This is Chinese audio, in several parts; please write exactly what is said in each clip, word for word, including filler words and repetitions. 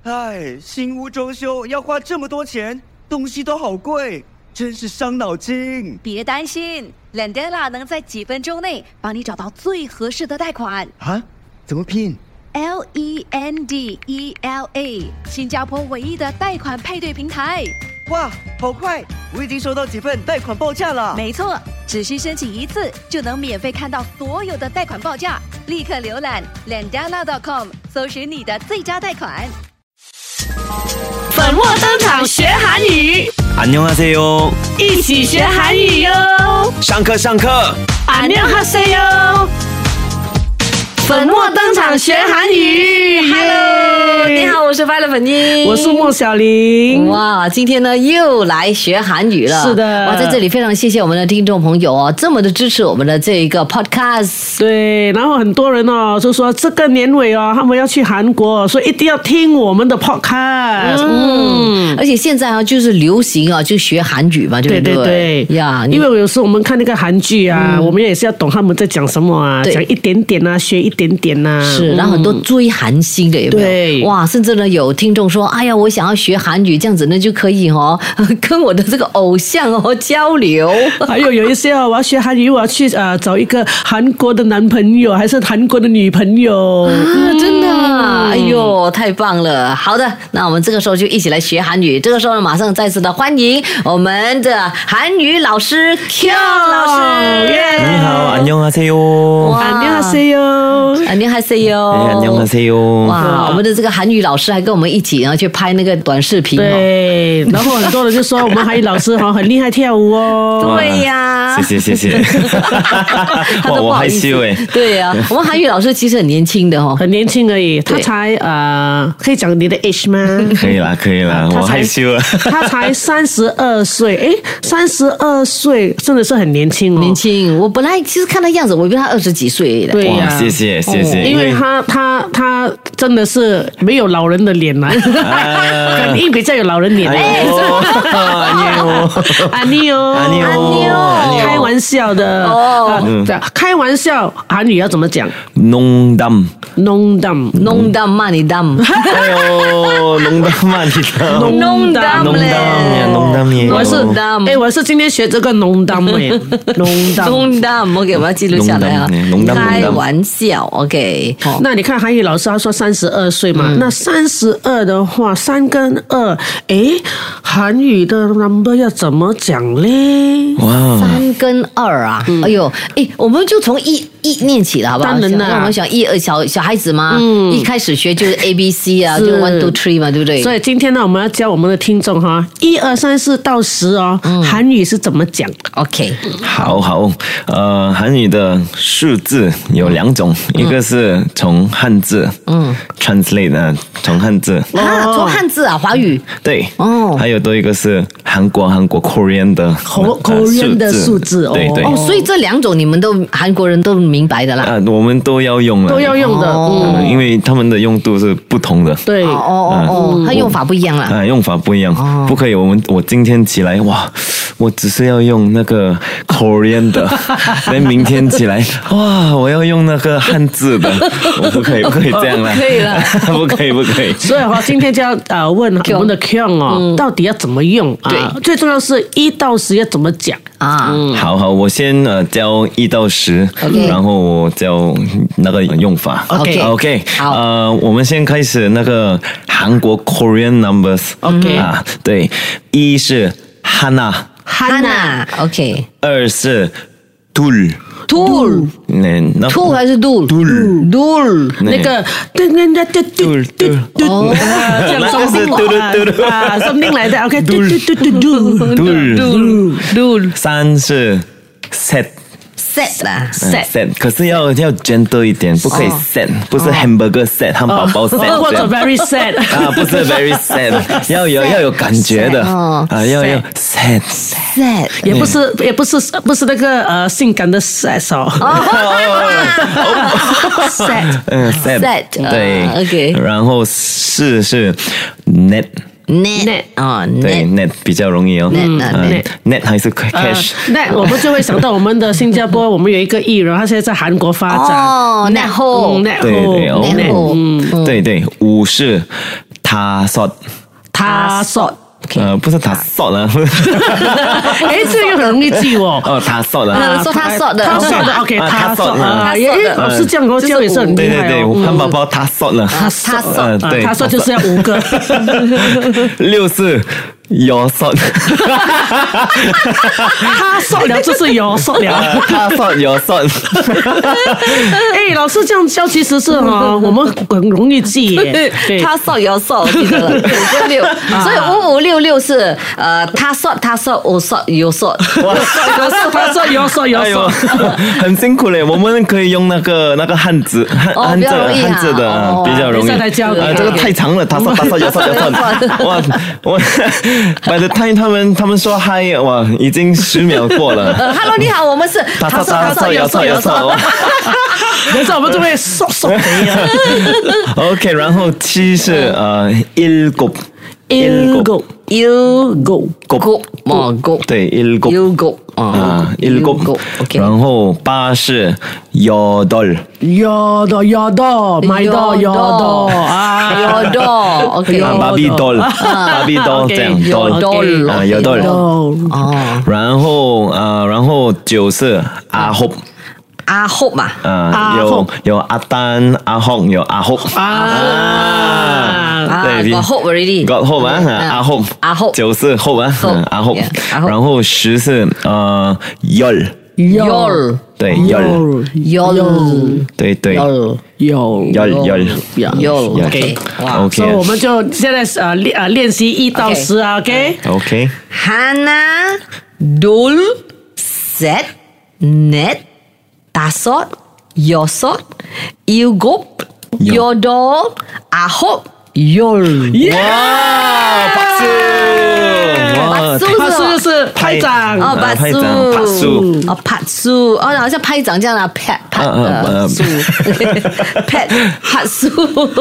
哎，新屋装修要花这么多钱，东西都好贵，真是伤脑筋。 别担心 Lendela 能在几分钟内帮你找到最合适的贷款啊？怎么拼？ L E N D E L A 新加坡唯一的贷款配对平台。 哇，好快！我已经收到几份贷款报价了。 没错，只需申请一次就能免费看到所有的贷款报价。立刻浏览 lendela dot com 搜寻你的最佳贷款。 粉墨登场学韩语， 안녕하세요， 一起学韩语哟！ 上课上课， 안녕하세요。粉墨登场学韩语 ，Hello， 你好，我是快乐粉英， 我是莫小玲。 哇，今天呢又来学韩语了， 是的。 哇，在这里非常谢谢我们的听众朋友哦，这么的支持我们的这一个 podcast。 对，然后很多人哦就说这个年尾哦，他们要去韩国，所以一定要听我们的 podcast。 嗯，而且现在啊就是流行啊，就学韩语嘛，对不对？ 对对对呀， 因为有时候我们看那个韩剧啊，嗯、我们也是要懂他们在讲什么啊，讲一点点啊，学一点点呐、啊。 是，然后很多追韩星的有没有？ 对， 哇，甚至呢有听众说，哎呀，我想要学韩语，这样子呢就可以哦，跟我的这个偶像哦交流。 还有有一些哦，我要学韩语，我要去呃找一个韩国的男朋友，还是韩国的女朋友啊，真的、啊，哎呦，太棒了！好的，那我们这个时候就一起来学韩语。这个时候呢，马上再次的欢迎我们的韩语老师 Kyung 老师。 你好，안녕하세요。 안녕하세요。 안녕하세요。 안녕하세요。 哇，我们的这个韩语老师还跟我们一起，然后去拍那个短视频。 对，然后很多人就说我们韩语老师哈很厉害跳舞哦。 对呀， 谢谢谢谢。哇，我害羞哎。 对呀、啊，我们韩语老师其实很年轻的哦， 很年轻而已。他才呃，可以讲你的 age 吗？ 可以啦，可以啦，我害羞了。 他才三十二岁，哎，三十二岁真的是很年轻哦。 年轻，我本来其实看他样子，我以为他二十几岁的。 对呀、啊， 谢谢谢谢、哦， 因为他他他真的是没有老人的脸啦，肯定比较有老人脸。 哎呦， 阿尼哦， 阿尼哦， 开玩笑的哦，开玩笑，韩语要怎么讲？ 농담， 농담， 농담 많이 담。 哎呦，농담 많이 담， 농담 농담이야농담이에요。 我是哎，我是今天学这个농담哎，농담， 농담，OK， 我要记录下来啊。开玩笑 ，OK。 那你看韩语老师他说三十二岁嘛，那三十二的话，三跟二，哎，韩语的 number 要怎么讲嘞？ 哇， 三跟二啊，哎呦，哎，我们就从一一念起了，好不好？ 当然啦， 我们想一二小小孩子嘛，嗯，一开始学就是 A B C 啊，就 one two three 嘛，对不对？ 所以今天呢，我们要教我们的听众哈，一二三四到十哦，韩语是怎么讲 ？OK， 好好，呃，韩语的数字有两种，一个是从汉字，嗯 ，translate 的从汉字啊，从汉字啊，华语对，哦，还有多一个是韩国韩国 Korean 的 Korean 的数字， 对对， 哦，所以这两种你们都韩国人都明白的啦， 啊，我们都要用了， 都要用的， 嗯，因为他们的用度是不同的， 对， 哦哦哦，它用法不一样啦， 啊，用法不一样，不可以，我们我今天起来哇，我只是要用那个 Korean 的，但明天起来哇，我要用那个汉字的，我不可以，不可以这样啦， 可以了， 不可以，不可以。 所以哈，今天就要呃问我们的 Kyung 哦，到底要怎么用啊？对，最重要是一到十要怎么讲啊？ 好好，我先呃教一到十，然后我教那个用法。 OK OK， 好，呃，我们先开始那个韩国 Korean numbers。OK 啊，对，一是하나 하나 OK， 二是둘 둘， 둘还是둘？ 둘 둘， 那个对对对对对对对，哦， 那是嘟嘟嘟啊，什么来的 ？OK， 嘟嘟嘟嘟嘟嘟嘟，三是셋。 set 啦 set set， 可是要要 gentle 一点，不可以 set， 不是 hamburger set， 汉堡包 set， 或者 very sad 啊，不是 very sad， 要有要有感觉的啊，要要 set set， 也不是也不是不是那个呃性感的 sex 哦 ，set， 嗯 set， 对 ，OK， 然后四是 net。 net 啊， 对 net 比较容易哦 ，net net 还是 cash net 我们就会想到我们的新加坡，我们有一个艺人，他现在在韩国发展哦 net hole net 对对 hole， 对对对，五是他索， 他说。 呃，不是他索了， 哎，这个很容易记哦。 哦，他索了， 呃说他说的他说的 OK， 啊他说他说的啊， 他说的哎，老师这样哦，这样也是很对厉害对对， 哦。 汉堡包他索了， 他他说呃对， 他说就是要五个。 六是有索， 他说了就是有说了。 他索有索， 哎，老师这样教其实是哦，我们很容易记耶。对， 他说有说，我记得了，五跟六，所以五五六六是呃，他说他说我说有说， 哇， 他说有说有哎呦说。， 很辛苦嘞。我们可以用那个那个汉字汉哦汉字比较容易啊汉字的哦比较容易。 等一下再教你啊，这个太长了，他说他说有说有说，哇，我 by the time 他们他们说嗨，哇，已经十秒过了。 呃，Hello，你好，我们是他说他说有说有说。 等一下我们就会说说肥了。 OK，然后七是呃일곱 일곱 일곱 곱 뭐 곱 对일곱 일곱 啊일곱， OK， 然后八是여덟 有的有的买的有的啊， 有的 OK， 啊바비 돌 바비 돌这样有 돌 的啊有돌， 哦， 哦， 然后呃然后九是阿혹 阿后嘛， 啊阿有 혹 有阿丹阿혹有阿혹 啊， 啊对 got hope already， got hope 啊阿혹 阿혹 九是后啊 hope， 阿혹 ，yeah，阿혹 然后十是呃열 열 对열 열 对对 열 有 열 열 열 OK，哇， 所以我们就现在呃练呃练习一到 OK 十啊 ，OK？ OK 하나, 둘, 셋, 넷, 다섯, 여섯, 일곱, 여덟, 아홉, 열. 哇박수哇 박수 他是不是拍掌？ 哦， 拍拍掌拍手，哦，拍手，哦，好像拍掌这样的，拍拍嗯嗯呃嗯手，拍拍手，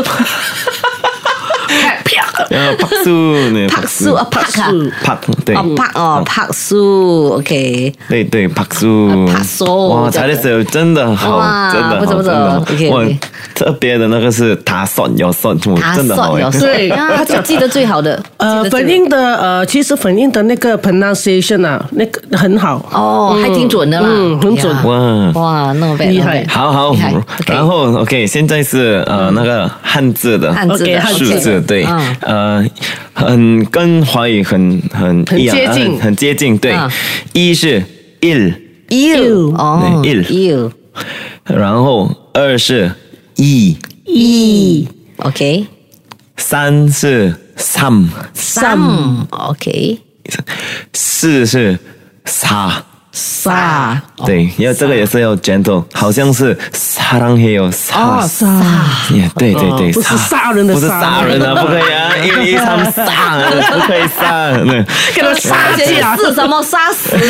拍啪， 呃박수呢拍手啊，拍啊， 拍对哦，拍哦，拍手 ，OK。 对对박수 拍手哇才的时候真的好哇真的不错不错好真的 OK，OK 哇特别的那个是他算有算我他真的好哎算有对啊，他就记得最好的。 呃， 记得最粉印的呃，其实粉印的那个 pronunciation 啊，那个很好。 哦，还挺准的啦， 嗯很准呀哇哇，那么厉害好好厉害， 然后 OK，现在是呃那个汉字的汉字 OK， 的汉字数字，对， 嗯呃，很跟华语很很很一样， 接近很很接近，对嗯， 一是 il， ，you 哦对，il you 然后二是 i， 一 OK 三是 삼， some OK 四是 사， 撒对，要这个也是要 gentle，好像是사랑해요 사， 撒， 也对对对， 不是杀人的不是杀杀人啊，不可以啊，一一三杀，不可以杀，那给他杀而且架。 是什么杀死人？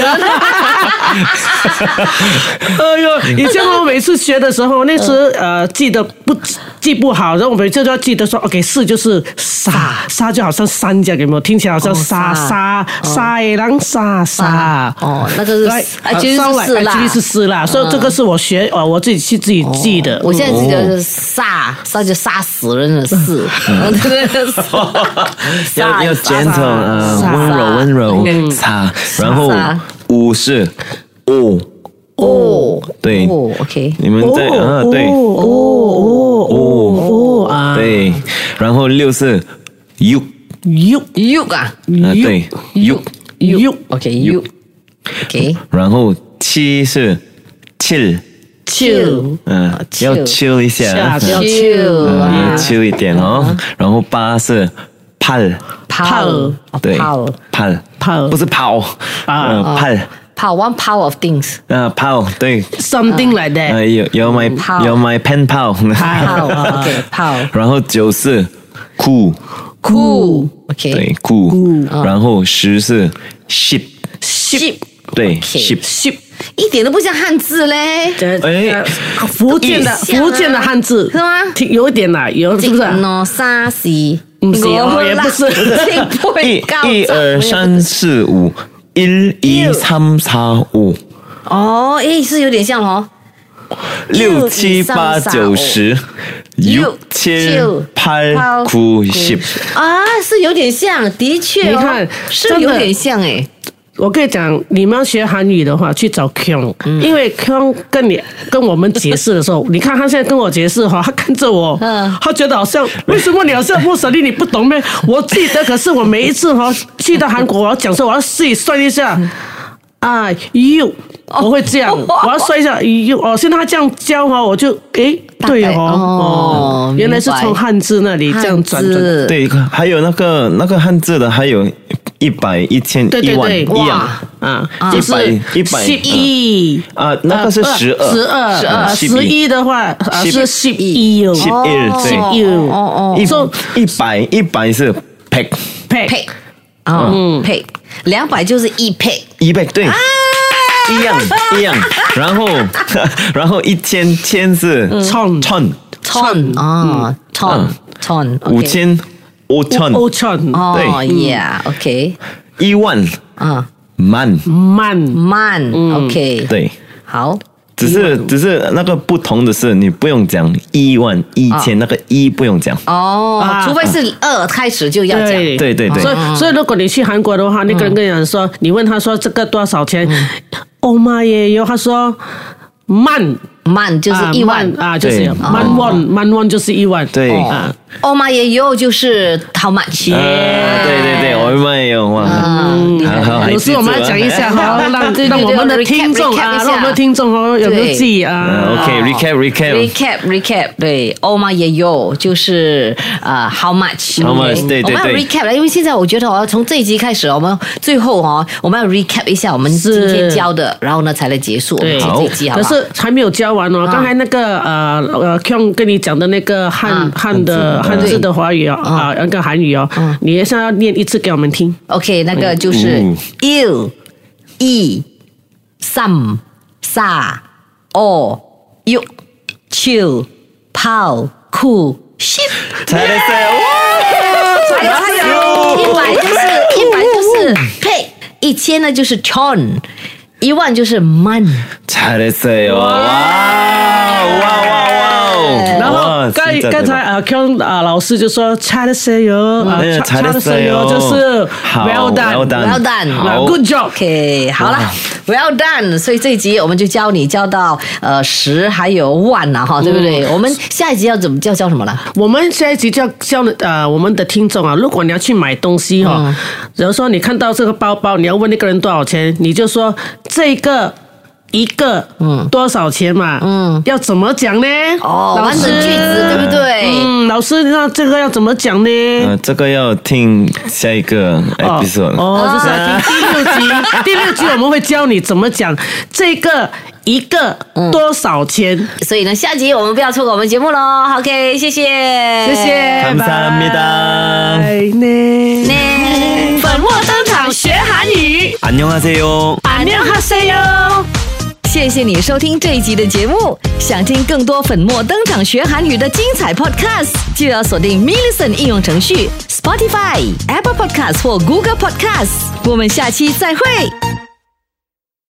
哎呦，以前我每次学的时候，那时呃记得不记不好，然后我每次都要记得说 ，OK， 四就是杀，杀就好像山这样，有没有？听起来好像杀杀杀野狼杀杀。 哦，那个是来啊，其实是四啦， 其实是四啦，所以这个是我学呃我自己去自己记的。 我现在记得是杀，杀就杀死人的事， 要要 gentle，呃， 杀温柔温柔杀，然后杀五是 o， 哦， 对， 哦，OK， 你们在啊对哦哦哦啊， 对，然后六是 육， 육 you 啊啊对 육， 육 ，OK，you，OK， 然后七是 칠， chill 嗯，要 chill 一下， 下要 chill 嗯， 啊要 chill 一点哦。然后八是 팔， 泡对泡 ，팔， 泡不是跑啊嗯팔， 泡 one power of things， 啊跑，对， something like 呃 that。 有有 my 泡有 my pen 跑， 泡，OK，泡然后九是 cool， ，cool，OK， 对 cool，然后十是 ship， ship， 对 OK ship， ship 一点都不像汉字嘞， 哎福建的像啊福建的汉字是吗挺有一点啦，有是不是？ 喏，沙西， 不是哦也不是一一二三四五，一二三四五， 哦，诶，是有点像哦， 六七八九十， 六七八九十啊，是有点像，的确、哦， 你看是有点像哎。 我跟你讲，你们要学韩语的话，去找 Kyung，、嗯、因为 Kyung 跟你跟我们解释的时候，你看他现在跟我解释哈，他看着我，嗯、他觉得好像为什么你好像莫小丽你不懂咩？我记得，可是我每一次哈去到韩国，我要讲说我要自己算一下啊 ，you， 我会这样，我要算一下 you， 哦，现在他这样教哈，我就诶，对哦，哦，原来是从汉字那里这样转转， 对，还有那个那个汉字的，还有。一百、一千、一万一样啊， 一百、一百、 十一啊，那个是十二、 十二、十二、十一的话是十一， 十一对， 哦哦， 一一百一百是 pack pack， 嗯 pack， 两百就是一 pack， 一 pack 对，一样一样，然后然后一千千是 ton ton ton 啊 ton ton， 五千。五千， 五千， 哦，Yeah，OK， 一万，啊，万， 万， 万 ，OK， 对， 好， 只是只是那个不同的是，你不用讲一万、一千，那个一不用讲， 哦，除非是二开始就要讲， 对对对， 所以所以如果你去韩国的话，那个人跟你讲说，你问他说这个多少钱，欧妈也有，他说万。 万就是一万啊，就是万万万万就是一万， 对啊。 欧玛也有就是 how much？ 对对对，欧玛也有哇。 有时我们要讲一下哈，让让我们的听众啊，让我们的听众哦有没有记啊 ？OK，recap recap recap recap， 对，欧玛也有就是呃 how much？ how much？ 对对对。 我们要 recap 了，因为现在我觉得哦，从这一集开始，我们最后哦，我们要 recap 一下我们今天教的，然后呢才来结束我们这一集，好不好？ 可是还没有教完哦，刚才那个呃呃 Kyung 跟你讲的那个汉汉的汉字的华语哦啊，那个韩语哦，你也是要念一次给我们听。 OK， 那个就是一、二、三、四、五、六、七、八、九、十。 才来塞哇！还有一百就是一百就是呸，一千呢就是 chon， 一万就是man。 才来塞哇哇哇哇！ 然后刚刚才啊 ，Kyung 啊老师就说 "잘했어요" 啊 "잘했어요" 就是 "well done"，"well done"，"good job"。OK， 好了 ，"well done"。所以这一集我们就教你教到呃十还有万了哈，对不对？我们下一集要怎么教教什么了？ 我们下一集就要教呃我们的听众啊，如果你要去买东西哈，比如说你看到这个包包，你要问那个人多少钱，你就说这个。一个嗯多少钱嘛？嗯，要怎么讲呢？ 哦，完整句子对不对？ 嗯，老师，那这个要怎么讲呢？ 呃，这个要听下一个 episode。 哦，就是要听第六集。第六集我们会教你怎么讲这个一个多少钱。 所以呢，下集我们不要错过我们节目喽。OK， 谢谢， 谢谢， 감사합니다。 呢， 粉墨登场学韩语。 안녕하세요。 안녕하세요。 谢谢你收听这一集的节目。想听更多粉墨登场学韩语的精彩 podcast， 就要锁定 Millicent 应用程序、Spotify、Apple Podcasts 或 Google Podcasts。我们下期再会。